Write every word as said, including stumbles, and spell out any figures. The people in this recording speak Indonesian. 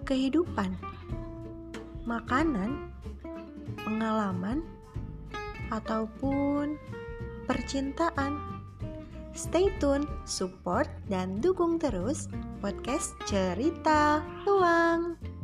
kehidupan, makanan, pengalaman, ataupun percintaan. Stay tune, support, dan dukung terus podcast Cerita Luang.